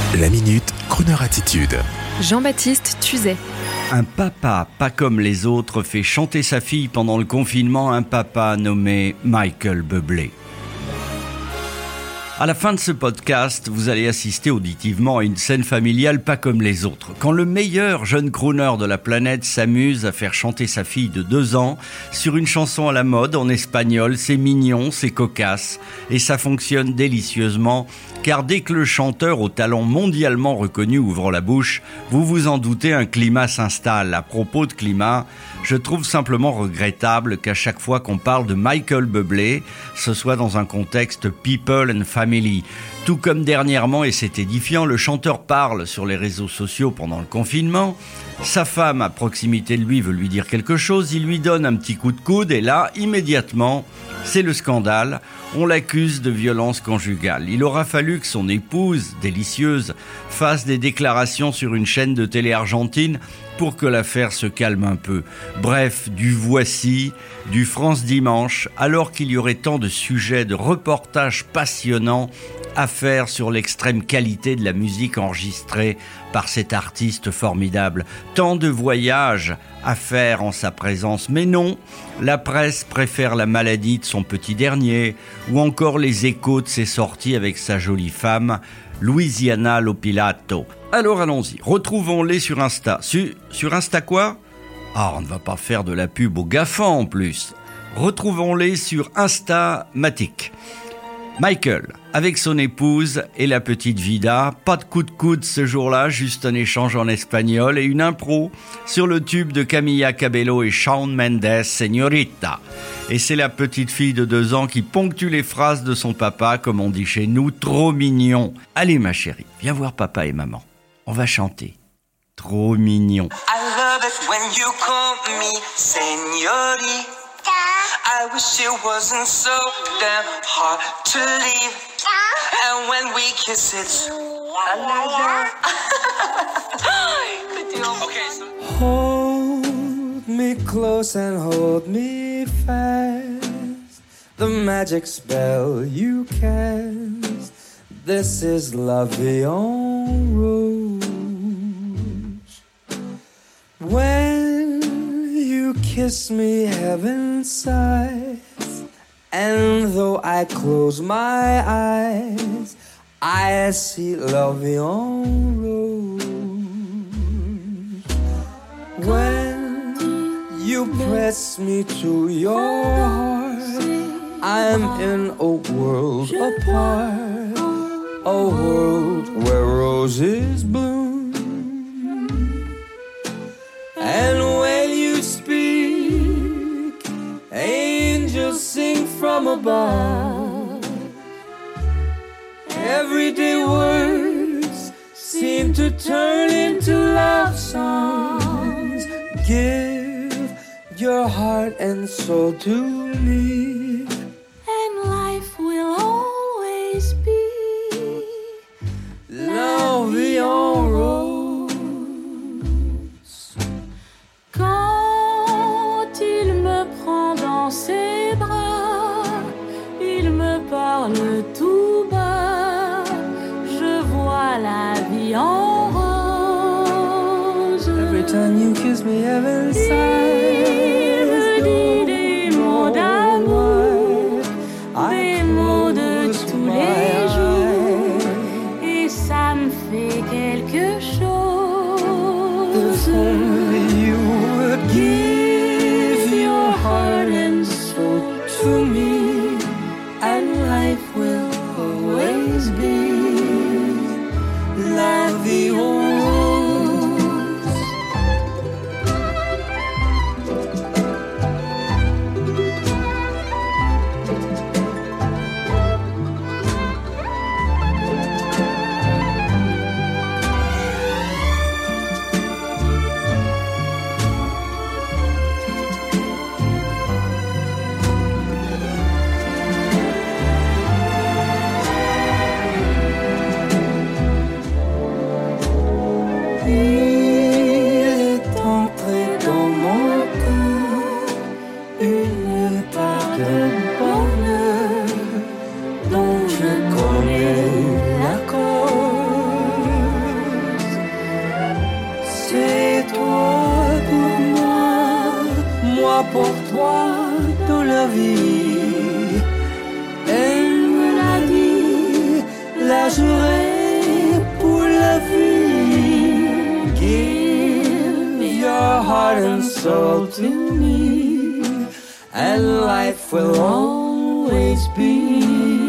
La Minute, Crooner Attitude. Jean-Baptiste Tuzet. Un papa pas comme les autres fait chanter sa fille pendant le confinement, un papa nommé Michael Bublé. À la fin de ce podcast, vous allez assister auditivement à une scène familiale pas comme les autres. Quand le meilleur jeune crooner de la planète s'amuse à faire chanter sa fille de 2 ans sur une chanson à la mode en espagnol, c'est mignon, c'est cocasse et ça fonctionne délicieusement. Car dès que le chanteur au talent mondialement reconnu ouvre la bouche, vous vous en doutez, un climat s'installe. À propos de climat, je trouve simplement regrettable qu'à chaque fois qu'on parle de Michael Bublé, ce soit dans un contexte people and family. Tout comme dernièrement, et c'est édifiant, le chanteur parle sur les réseaux sociaux pendant le confinement. Sa femme à proximité de lui veut lui dire quelque chose, il lui donne un petit coup de coude et là, immédiatement, c'est le scandale. On l'accuse de violence conjugale. Il aura fallu que son épouse, délicieuse, fasse des déclarations sur une chaîne de télé argentine pour que l'affaire se calme un peu. Bref, du Voici, du France Dimanche, alors qu'il y aurait tant de sujets, de reportages passionnants à faire sur l'extrême qualité de la musique enregistrée par cet artiste formidable. Tant de voyages à faire en sa présence. Mais non, la presse préfère la maladie de son petit dernier ou encore les échos de ses sorties avec sa jolie femme, Louisiana Lopilato. Alors allons-y, retrouvons-les sur Insta. Sur Insta quoi ? Ah, on ne va pas faire de la pub aux GAFA en plus. Retrouvons-les sur Instamatic. Michael, avec son épouse et la petite Vida, pas de coup de coude ce jour-là, juste un échange en espagnol et une impro sur le tube de Camila Cabello et Shawn Mendes, Señorita. Et c'est la petite fille de 2 ans qui ponctue les phrases de son papa, comme on dit chez nous, trop mignon. Allez ma chérie, viens voir papa et maman, on va chanter. Trop mignon. I love it when you call me señorita. I wish it wasn't so damn hard to leave. And when we kiss it's okay, so hold me close and hold me fast. The magic spell you cast. This is love en rouge. When you kiss me, heaven sighs, and though I close my eyes, I see love en rouge. When you press me to your heart, I'm in a world apart, a world where roses bloom. And when you speak, angels sing from above. Everyday words seem to turn into love songs. Give your heart and soul to me, and life will always be love en rose. Quand il me prend dans ses bras, il me parle tout bas, je vois la vie en rose. Every time you kiss me, heaven sighs. Il me dit des mots d'amour, des mots de tous les jours, et ça me fait quelque chose. If only you would give your heart and soul to me, and life will always be la vie en rose. la vie. Elle me l'a dit, la jouerai pour la vie. Give your heart and soul to me, and life will always be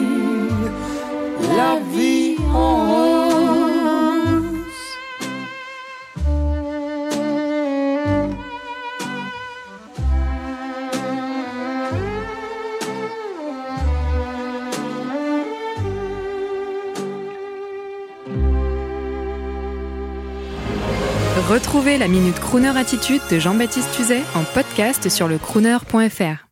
la vie en rose. Retrouvez la Minute Crooner Attitude de Jean-Baptiste Tuzet en podcast sur le crooner.fr.